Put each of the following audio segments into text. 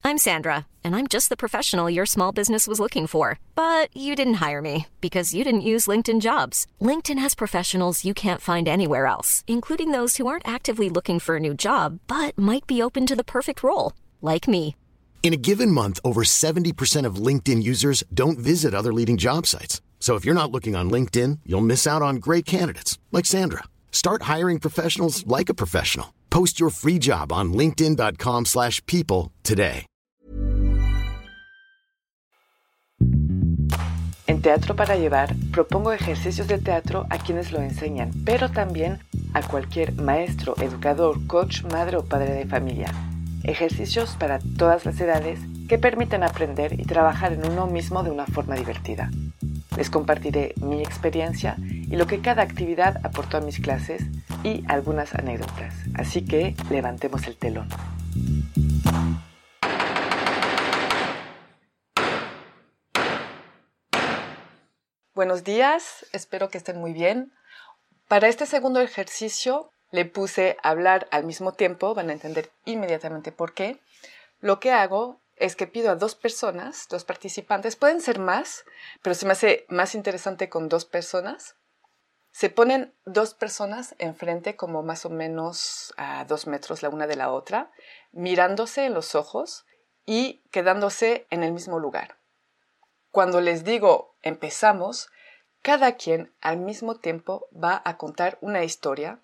I'm Sandra, and I'm just the professional your small business was looking for. But you didn't hire me because you didn't use LinkedIn Jobs. LinkedIn has professionals you can't find anywhere else, including those who aren't actively looking for a new job, but might be open to the perfect role, like me. In a given month, over 70% of LinkedIn users don't visit other leading job sites. So if you're not looking on LinkedIn, you'll miss out on great candidates like Sandra. Start hiring professionals like a professional. Post your free job on linkedin.com/people today. En Teatro para Llevar propongo ejercicios de teatro a quienes lo enseñan, pero también a cualquier maestro, educador, coach, madre o padre de familia. Ejercicios para todas las edades que permiten aprender y trabajar en uno mismo de una forma divertida. Les compartiré mi experiencia y lo que cada actividad aportó a mis clases y algunas anécdotas. Así que levantemos el telón. Buenos días, espero que estén muy bien. Para este segundo ejercicio le puse hablar al mismo tiempo, van a entender inmediatamente por qué. Lo que hago es que pido a dos personas, dos participantes, pueden ser más, pero se me hace más interesante con dos personas. Se ponen dos personas enfrente como más o menos a 2 metros la una de la otra, mirándose en los ojos y quedándose en el mismo lugar. Cuando les digo empezamos, cada quien al mismo tiempo va a contar una historia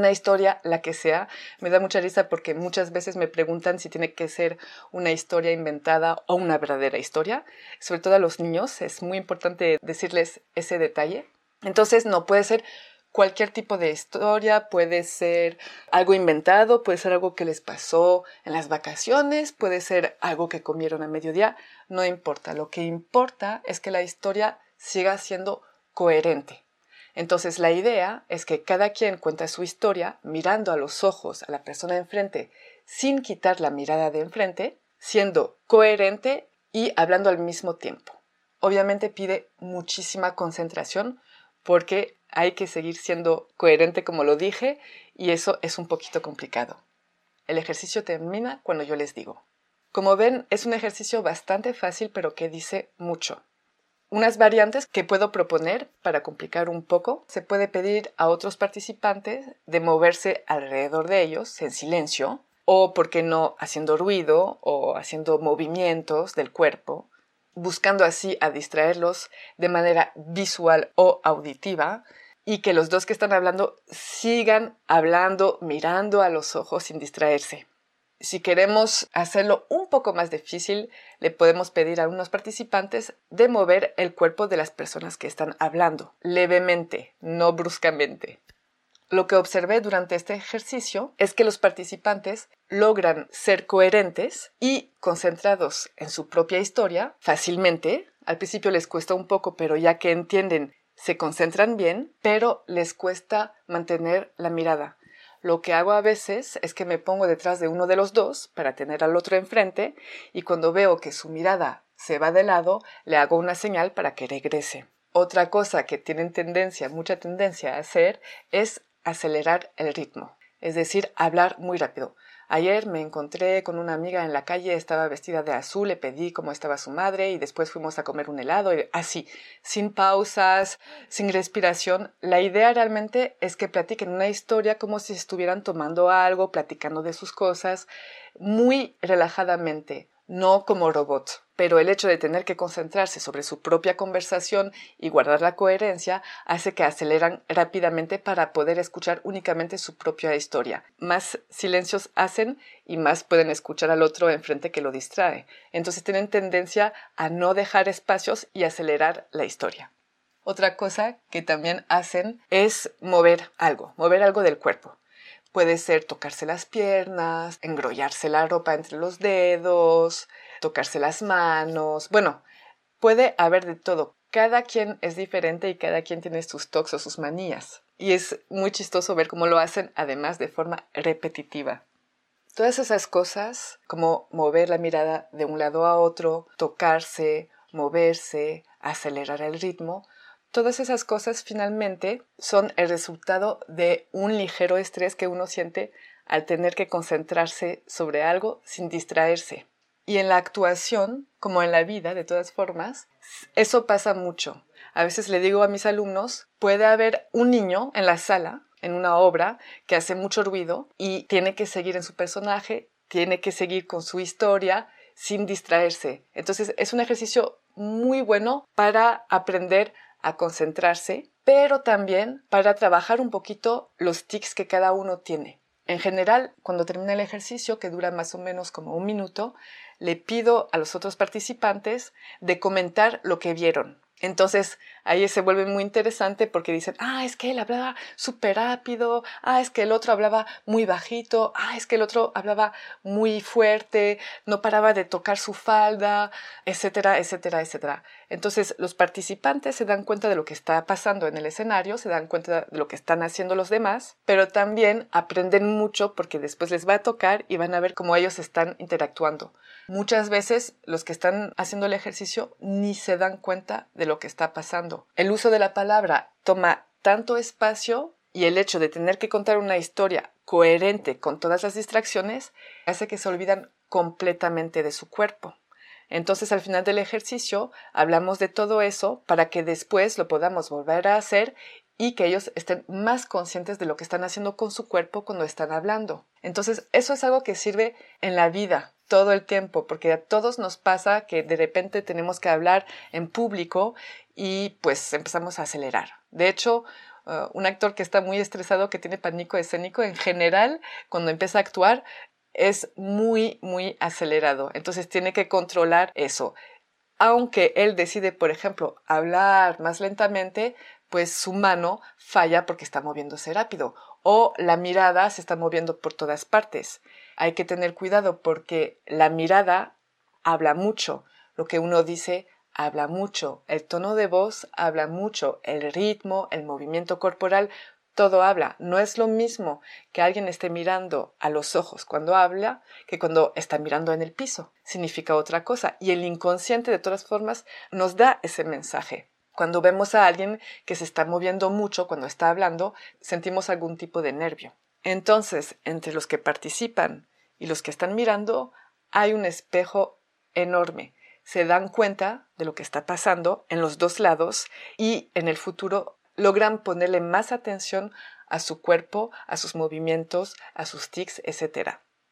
la que sea. Me da mucha risa porque muchas veces me preguntan si tiene que ser una historia inventada o una verdadera historia. Sobre todo a los niños es muy importante decirles ese detalle. Entonces no puede ser cualquier tipo de historia, puede ser algo inventado, puede ser algo que les pasó en las vacaciones, puede ser algo que comieron a mediodía, no importa. Lo que importa es que la historia siga siendo coherente. Entonces la idea es que cada quien cuenta su historia mirando a los ojos a la persona de enfrente sin quitar la mirada de enfrente, siendo coherente y hablando al mismo tiempo. Obviamente pide muchísima concentración porque hay que seguir siendo coherente como lo dije y eso es un poquito complicado. El ejercicio termina cuando yo les digo. Como ven, es un ejercicio bastante fácil pero que dice mucho. Unas variantes que puedo proponer para complicar un poco, se puede pedir a otros participantes de moverse alrededor de ellos en silencio o, por qué no, haciendo ruido o haciendo movimientos del cuerpo, buscando así a distraerlos de manera visual o auditiva y que los dos que están hablando sigan hablando, mirando a los ojos sin distraerse. Si queremos hacerlo un poco más difícil, le podemos pedir a unos participantes de mover el cuerpo de las personas que están hablando, levemente, no bruscamente. Lo que observé durante este ejercicio es que los participantes logran ser coherentes y concentrados en su propia historia fácilmente. Al principio les cuesta un poco, pero ya que entienden, se concentran bien, pero les cuesta mantener la mirada. Lo que hago a veces es que me pongo detrás de uno de los dos para tener al otro enfrente y cuando veo que su mirada se va de lado, le hago una señal para que regrese. Otra cosa que tienen mucha tendencia a hacer es acelerar el ritmo, es decir, hablar muy rápido. Ayer me encontré con una amiga en la calle, estaba vestida de azul, le pedí cómo estaba su madre y después fuimos a comer un helado, y así, sin pausas, sin respiración. La idea realmente es que platiquen una historia como si estuvieran tomando algo, platicando de sus cosas, muy relajadamente, no como robot. Pero el hecho de tener que concentrarse sobre su propia conversación y guardar la coherencia hace que aceleran rápidamente para poder escuchar únicamente su propia historia. Más silencios hacen y más pueden escuchar al otro enfrente que lo distrae. Entonces tienen tendencia a no dejar espacios y acelerar la historia. Otra cosa que también hacen es mover algo del cuerpo. Puede ser tocarse las piernas, engrollarse la ropa entre los dedos, tocarse las manos. Bueno, puede haber de todo. Cada quien es diferente y cada quien tiene sus tocs o sus manías. Y es muy chistoso ver cómo lo hacen, además de forma repetitiva. Todas esas cosas, como mover la mirada de un lado a otro, tocarse, moverse, acelerar el ritmo, todas esas cosas finalmente son el resultado de un ligero estrés que uno siente al tener que concentrarse sobre algo sin distraerse. Y en la actuación, como en la vida, de todas formas, eso pasa mucho. A veces le digo a mis alumnos, puede haber un niño en la sala, en una obra, que hace mucho ruido y tiene que seguir en su personaje, tiene que seguir con su historia sin distraerse. Entonces es un ejercicio muy bueno para aprender a concentrarse, pero también para trabajar un poquito los tics que cada uno tiene. En general, cuando termina el ejercicio, que dura más o menos como 1 minuto, le pido a los otros participantes de comentar lo que vieron. Entonces, ahí se vuelve muy interesante porque dicen, es que él hablaba súper rápido, es que el otro hablaba muy bajito, es que el otro hablaba muy fuerte, no paraba de tocar su falda, etcétera, etcétera, etcétera. Entonces, los participantes se dan cuenta de lo que está pasando en el escenario, se dan cuenta de lo que están haciendo los demás, pero también aprenden mucho porque después les va a tocar y van a ver cómo ellos están interactuando. Muchas veces los que están haciendo el ejercicio ni se dan cuenta de lo que está pasando. El uso de la palabra toma tanto espacio y el hecho de tener que contar una historia coherente con todas las distracciones hace que se olvidan completamente de su cuerpo. Entonces, al final del ejercicio, hablamos de todo eso para que después lo podamos volver a hacer y que ellos estén más conscientes de lo que están haciendo con su cuerpo cuando están hablando. Entonces, eso es algo que sirve en la vida todo el tiempo, porque a todos nos pasa que de repente tenemos que hablar en público y pues empezamos a acelerar. De hecho, un actor que está muy estresado, que tiene pánico escénico, en general, cuando empieza a actuar, es muy, muy acelerado. Entonces tiene que controlar eso. Aunque él decide, por ejemplo, hablar más lentamente, pues su mano falla porque está moviéndose rápido o la mirada se está moviendo por todas partes. Hay que tener cuidado porque la mirada habla mucho, lo que uno dice habla mucho, el tono de voz habla mucho, el ritmo, el movimiento corporal, todo habla. No es lo mismo que alguien esté mirando a los ojos cuando habla que cuando está mirando en el piso. Significa otra cosa y el inconsciente de todas formas nos da ese mensaje. Cuando vemos a alguien que se está moviendo mucho cuando está hablando, sentimos algún tipo de nervio. Entonces, entre los que participan y los que están mirando, hay un espejo enorme. Se dan cuenta de lo que está pasando en los dos lados y en el futuro logran ponerle más atención a su cuerpo, a sus movimientos, a sus tics, etc.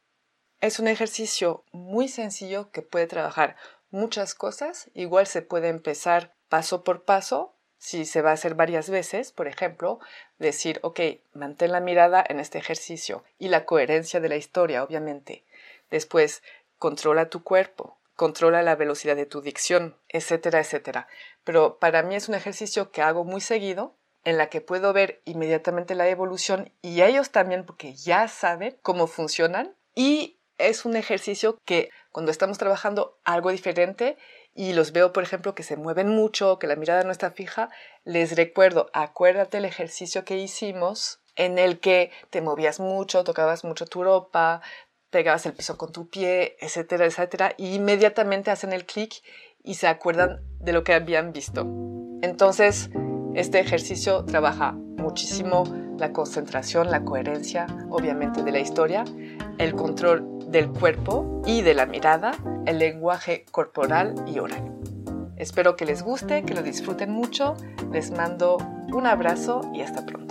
Es un ejercicio muy sencillo que puede trabajar muchas cosas. Igual se puede empezar paso por paso. Si se va a hacer varias veces, por ejemplo, decir, mantén la mirada en este ejercicio y la coherencia de la historia, obviamente. Después, controla tu cuerpo, controla la velocidad de tu dicción, etcétera, etcétera. Pero para mí es un ejercicio que hago muy seguido, en la que puedo ver inmediatamente la evolución y ellos también porque ya saben cómo funcionan. Y es un ejercicio que cuando estamos trabajando algo diferente y los veo, por ejemplo, que se mueven mucho, que la mirada no está fija, les recuerdo, acuérdate el ejercicio que hicimos en el que te movías mucho, tocabas mucho tu ropa, pegabas el piso con tu pie, etcétera, etcétera, y inmediatamente hacen el clic y se acuerdan de lo que habían visto. Entonces, este ejercicio trabaja muchísimo la concentración, la coherencia, obviamente, de la historia, el control del cuerpo y de la mirada, el lenguaje corporal y oral. Espero que les guste, que lo disfruten mucho. Les mando un abrazo y hasta pronto.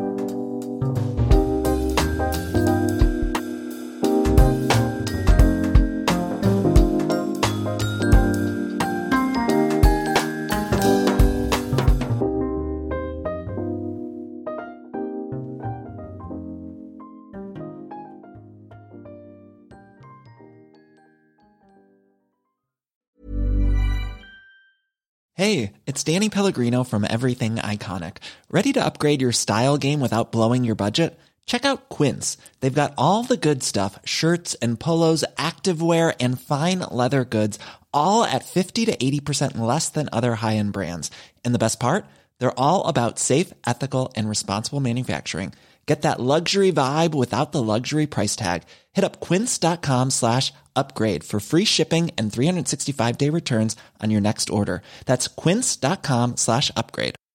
Hey, it's Danny Pellegrino from Everything Iconic. Ready to upgrade your style game without blowing your budget? Check out Quince. They've got all the good stuff, shirts and polos, activewear, and fine leather goods, all at 50 to 80% less than other high-end brands. And the best part? They're all about safe, ethical, and responsible manufacturing. Get that luxury vibe without the luxury price tag. Hit up quince.com/upgrade for free shipping and 365-day returns on your next order. That's quince.com/upgrade.